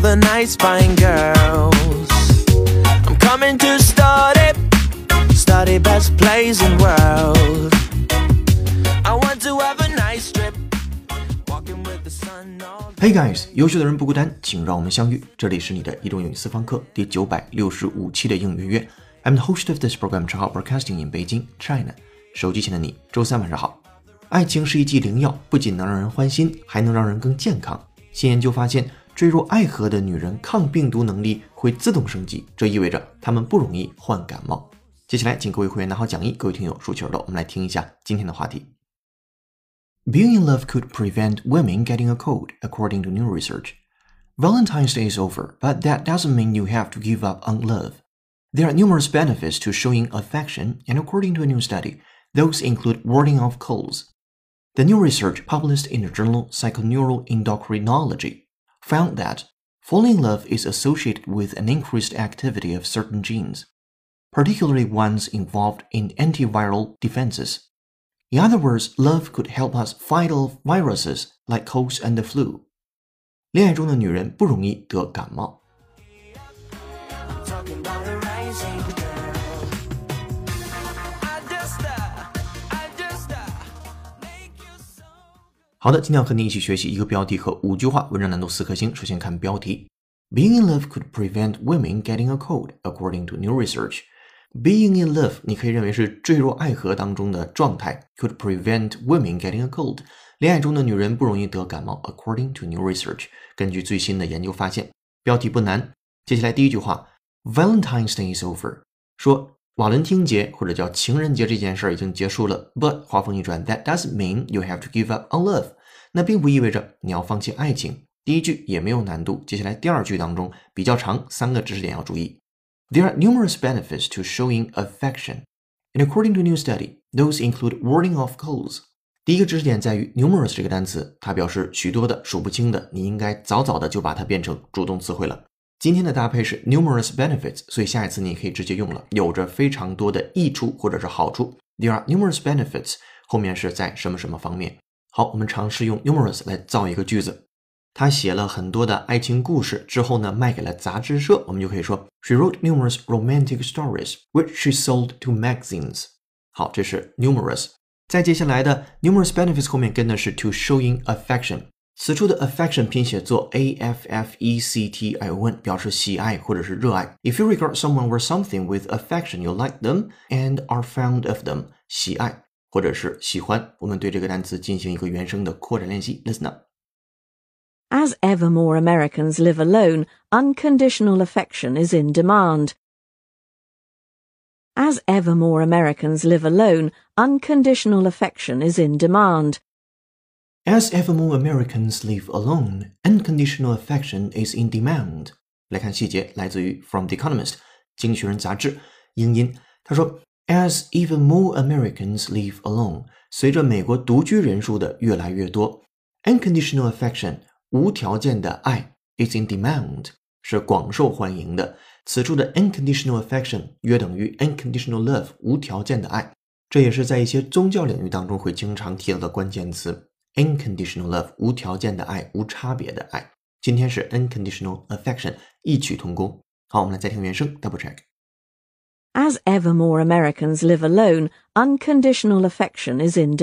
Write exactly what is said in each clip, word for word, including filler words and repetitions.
ever nice fine girls. I'm coming to study, study best place in world. I want to have a nice trip, walking with the sun all Hey guys， 优秀的人不孤单，请让我们相遇。这里是你的移动英语私房课第九百六十五期的英语约。I'm the host of this program, Changhao Broadcasting in Beijing, China. 手机前的你，周三晚上好。爱情是一剂灵药，不仅能让人欢心，还能让人更健康。新研究发现，坠入爱河的女人抗病毒能力会自动升级，这意味着她们不容易患感冒。接下来，请各位会员拿好讲义，各位听友竖起耳朵，我们来听一下今天的话题。Being in love could prevent women getting a cold, according to new research. Valentine's Day is over, but that doesn't mean you have to give up on love. There are numerous benefits to showing affection, and according to a new study, those include warding off colds. The new research published in the journal Psychoneural Endocrinology found that falling in love is associated with an increased activity of certain genes, particularly ones involved in antiviral defenses. In other words, love could help us fight off viruses like colds and the flu. 恋爱中的女人不容易得感冒。好的，今天要和你一起学习一个标题和五句话，文章难度四颗星。首先看标题 Being in love could prevent women getting a cold, according to new research. Being in love 你可以认为是坠入爱河当中的状态 could prevent women getting a cold. 恋爱中的女人不容易得感冒 according to new research. 根据最新的研究发现，标题不难。接下来第一句话 Valentine's Day is over. 说瓦伦汀节或者叫情人节这件事已经结束了 But 话锋一转 That doesn't mean you have to give up on love. 那并不意味着你要放弃爱情。第一句也没有难度，接下来第二句当中比较长，三个知识点要注意。There are numerous benefits to showing affection. And according to a new study, those include warding off colds. 第一个知识点在于 numerous 这个单词，它表示许多的、数不清的，你应该早早的就把它变成主动词汇了。今天的搭配是 numerous benefits， 所以下一次你可以直接用了，有着非常多的益处或者是好处。There are numerous benefits， 后面是在什么什么方面。好，我们尝试用 numerous 来造一个句子。他写了很多的爱情故事之后呢，卖给了杂志社，我们就可以说 She wrote numerous romantic stories, which she sold to magazines. 好，这是 numerous。再接下来的 numerous benefits 后面跟的是 to showing affection。此处的 affection 拼写作 A F F E C T I O N， 表示喜爱或者是热爱。If you regard someone or something with affection, you like them and are fond of them. 喜爱或者是喜欢。我们对这个单词进行一个原声的扩展练习。Listen up.As ever more Americans live alone, unconditional affection is in demand. As ever more Americans live alone, unconditional affection is in demand. As ever more Americans live alone, unconditional affection is in demand. 来看细节，来自于 From the Economist 经济学人杂志英音。他说 As even more Americans live alone, 随着美国独居人数的越来越多 unconditional affection无条件的爱 is in demand 是广受欢迎的。此处的 unconditional affection 约等于 unconditional love 无条件的爱，这也是在一些宗教领域当中会经常提到的关键词 unconditional love 无条件的爱，无差别的爱。今天是 unconditional affection 异曲同工。好，我们来再听原声 double check。 As ever more Americans live alone, unconditional affection is in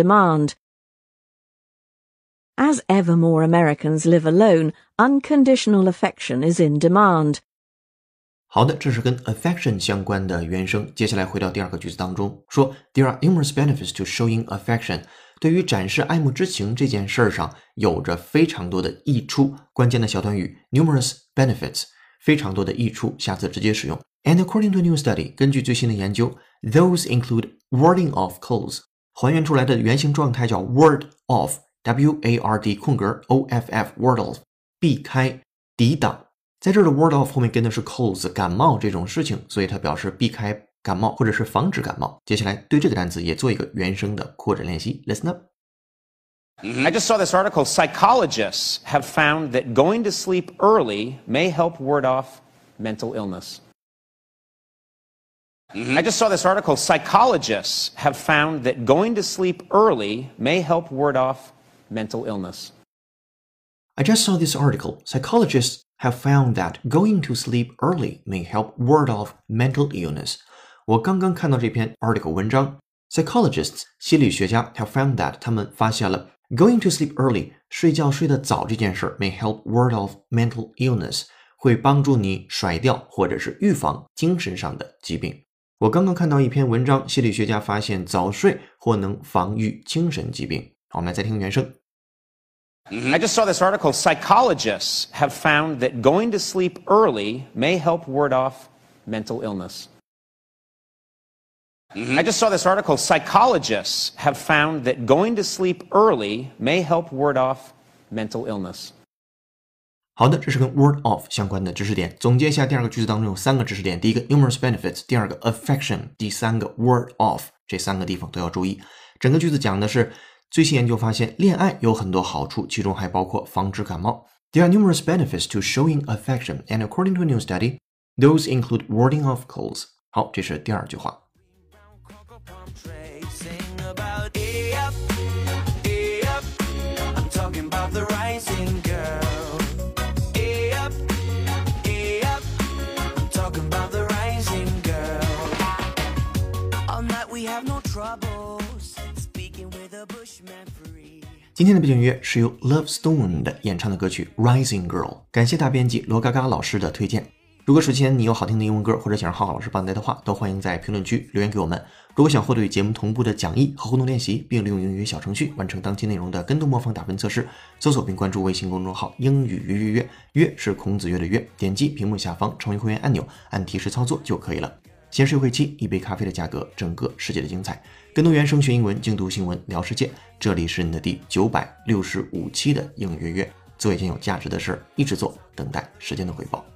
demand.As ever more Americans live alone, unconditional affection is in demand. 好的，这是跟 affection 相关的原声。接下来回到第二个句子当中，说 There are numerous benefits to showing affection. 对于展示爱慕之情这件事上有着非常多的益处。关键的小短语 numerous benefits 非常多的益处，下次直接使用。And according to a new study, 根据最新的研究 those include warding off colds. 还原出来的原型状态叫 ward off.W A R D 空格 O F F ward off 避开抵挡，在这儿的 ward off 后面跟的是 colds 感冒这种事情，所以它表示避开感冒或者是防止感冒。接下来对这个单词也做一个原声的扩展练习 Listen up. I just saw this article. Psychologists have found that going to sleep early may help ward off mental illness. I just saw this article. Psychologists have found that going to sleep early may help ward off mental illness. I just saw this article. Psychologists have found that going to sleep early may help ward off mental illness. 我刚刚看到这篇 article 文章 Psychologists 心理学家 have found that 他们发现了 going to sleep early 睡觉睡得早这件事 may help ward off mental illness 会帮助你甩掉或者是预防精神上的疾病。我刚刚看到一篇文章，心理学家发现早睡或能防御精神疾病。好，我们来再听原声。 I just saw this article. Psychologists have found that going to sleep early may help ward off mental illness. I just saw this article. Psychologists have found that going to sleep early may help ward off mental illness. 好的，这是跟 word off 相关的知识点。总结一下，第二个句子当中有三个知识点：第一个 numerous benefits， 第二个 affection， 第三个 word off， 这三个地方都要注意。整个句子讲的是最新研究发现，恋爱有很多好处，其中还包括防止感冒。There are numerous benefits to showing affection, and according to a new study, those include warding off colds. 好，这是第二句话。今天的背景音乐是由 Love Stone 的演唱的歌曲 Rising Girl， 感谢大编辑罗嘎嘎老师的推荐。如果首先你有好听的英文歌，或者想让浩浩老师帮你带的话，都欢迎在评论区留言给我们。如果想获得与节目同步的讲义和互动练习，并利用英语小程序完成当期内容的跟读模仿打分测试，搜索并关注微信公众号英语约约约，约是孔子约的约，点击屏幕下方成为会员按钮，按提示操作就可以了。闲时会期，一杯咖啡的价格，整个世界的精彩。跟读原声学英文，精读新闻聊世界。这里是你的第九百六十五期的英语约约，做一件有价值的事，一直做，等待时间的回报。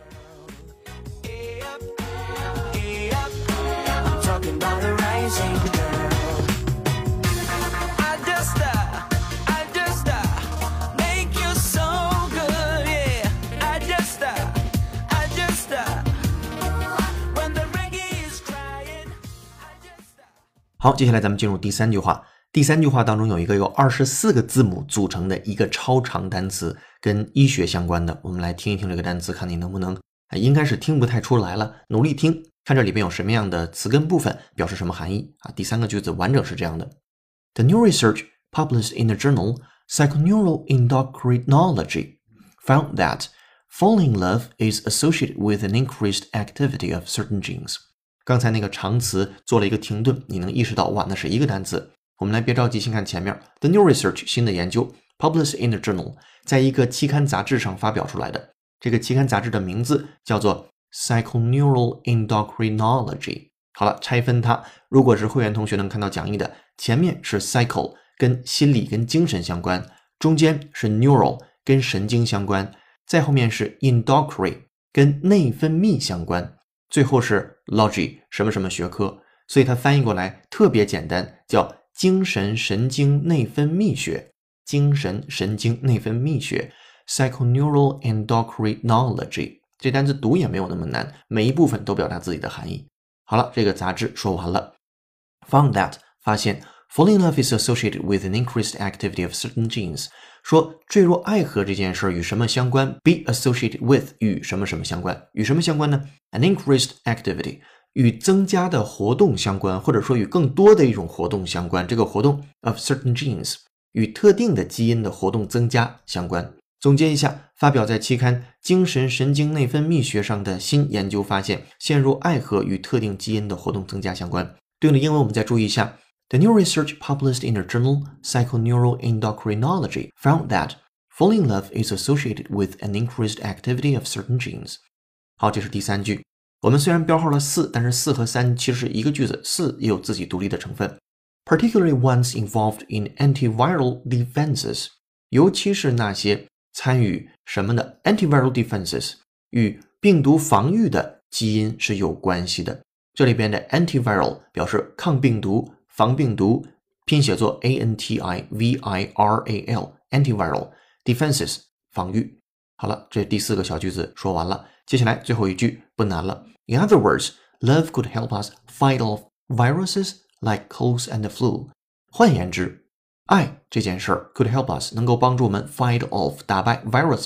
好，接下来咱们进入第三句话。第三句话当中有一个由二十四个字母组成的一个超长单词，跟医学相关的。我们来听一听这个单词，看你能不能，应该是听不太出来了，努力听，看这里边有什么样的词根部分，表示什么含义啊？第三个句子完整是这样的 ：The new research published in the journal Psychoneural Endocrinology found that falling in love is associated with an increased activity of certain genes. 刚才那个长词做了一个停顿，你能意识到哇，那是一个单词。我们来别着急，先看前面 The new research 新的研究 published in the journal 在一个期刊杂志上发表出来的。这个期刊杂志的名字叫做 Psychoneural Endocrinology。 好了，拆分它，如果是会员同学能看到讲义的，前面是 psycho 跟心理跟精神相关，中间是 neural 跟神经相关，再后面是 endocrine 跟内分泌相关，最后是 logy 什么什么学科，所以它翻译过来特别简单，叫精神神经内分泌学。精神神经内分泌学 Psychoneural Endocrinology 这单词读也没有那么难，每一部分都表达自己的含义。好了，这个杂志说完了。 Found that 发现 Falling in love is associated with an increased activity of certain genes 说坠入爱河这件事与什么相关， be associated with 与什么什么相关，与什么相关呢？ An increased activity 与增加的活动相关，或者说与更多的一种活动相关，这个活动 of certain genes 与特定的基因的活动增加相关。总结一下，发表在期刊精神神经内分泌学上的新研究发现，陷入爱河与特定基因的活动增加相关。对应的英文我们再注意一下， The new research published in the journal Psychoneural Endocrinology found that falling in love is associated with an increased activity of certain genes. 好，这是第三句。我们虽然标号了四，但是四和三其实是一个句子，四也有自己独立的成分。Particularly ones involved in antiviral defenses， 尤其是那些参与什么的 antiviral defenses 与病毒防御的基因是有关系的。这里边的 antiviral 表示抗病毒、防病毒，拼写作 A N T I V I R A L antiviral defenses 防御。好了，这第四个小句子说完了，接下来最后一句不难了。In other words, love could help us fight off viruses like colds and the flu. 换言之，爱这件事儿 could help us 能够帮助我们 fight off 打败 viruses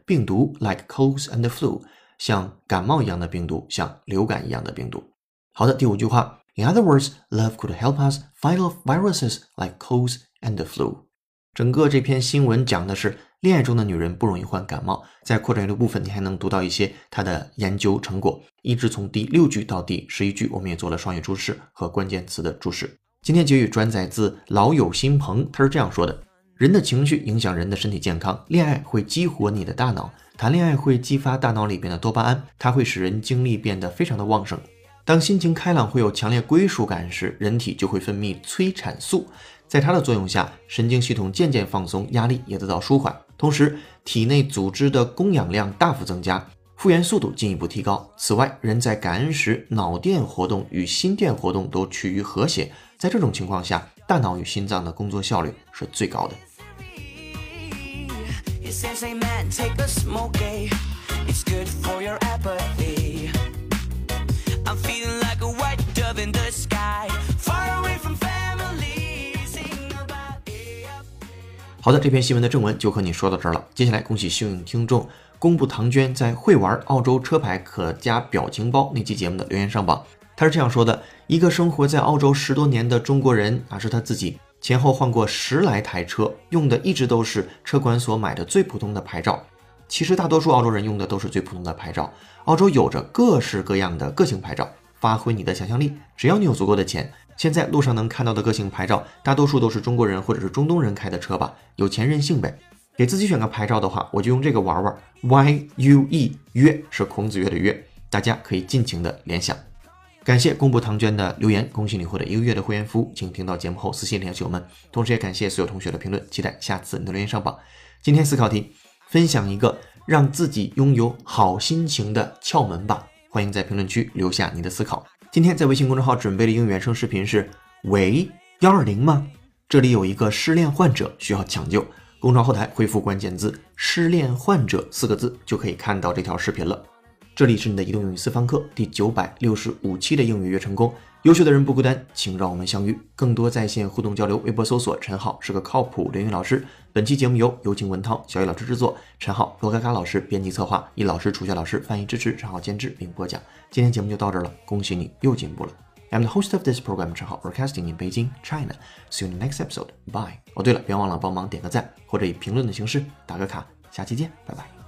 病毒 like colds and flu， 像感冒一样的病毒，像流感一样的病毒。好的，第五句话 In other words, love could help us fight off viruses like colds and flu。 整个这篇新闻讲的是恋爱中的女人不容易患感冒，在扩展阅读部分你还能读到一些她的研究成果，一直从第六句到第十一句我们也做了双语注释和关键词的注释。今天结语转载自老友新朋，他是这样说的：人的情绪影响人的身体健康，恋爱会激活你的大脑，谈恋爱会激发大脑里边的多巴胺，它会使人精力变得非常的旺盛。当心情开朗会有强烈归属感时，人体就会分泌催产素，在它的作用下，神经系统渐渐放松，压力也得到舒缓，同时体内组织的供氧量大幅增加，复原速度进一步提高。此外，人在感恩时脑电活动与心电活动都趋于和谐，在这种情况下，大脑与心脏的工作效率是最高的。好的，这篇新闻的正文就和你说到这儿了。接下来恭喜幸运听众公布唐娟在会玩澳洲车牌可加表情包那期节目的留言上榜。他是这样说的：一个生活在澳洲十多年的中国人啊，是他自己前后换过十来台车，用的一直都是车管所买的最普通的牌照。其实大多数澳洲人用的都是最普通的牌照。澳洲有着各式各样的个性牌照，发挥你的想象力，只要你有足够的钱。现在路上能看到的个性牌照大多数都是中国人或者是中东人开的车吧，有钱任性呗。给自己选个牌照的话，我就用这个玩玩 Y U E， 约是孔子约的约，大家可以尽情的联想。感谢公布唐娟的留言，恭喜你获得一个月的会员服务，请听到节目后私信联系我们。同时也感谢所有同学的评论，期待下次你的留言上榜。今天思考题，分享一个让自己拥有好心情的窍门吧，欢迎在评论区留下你的思考。今天在微信公众号准备的英语原声视频是喂一二零吗？这里有一个失恋患者需要抢救，公众号后台回复关键字失恋患者四个字就可以看到这条视频了。这里是你的移动英语私房课第九百六十五期的英语约成功，优秀的人不孤单，请让我们相遇。更多在线互动交流，微博搜索陈浩是个靠谱的英语老师。本期节目由有请文涛、小雨老师制作，陈浩、罗嘎嘎老师编辑策划，易老师、楚学老师翻译支持，陈浩监制并播讲。今天节目就到这儿了，恭喜你又进步了。I'm the host of this program, 陈浩 broadcasting in Beijing, China. See you in the next episode. Bye. 哦，对了，别忘了帮忙点个赞，或者以评论的形式打个卡。下期见，拜拜。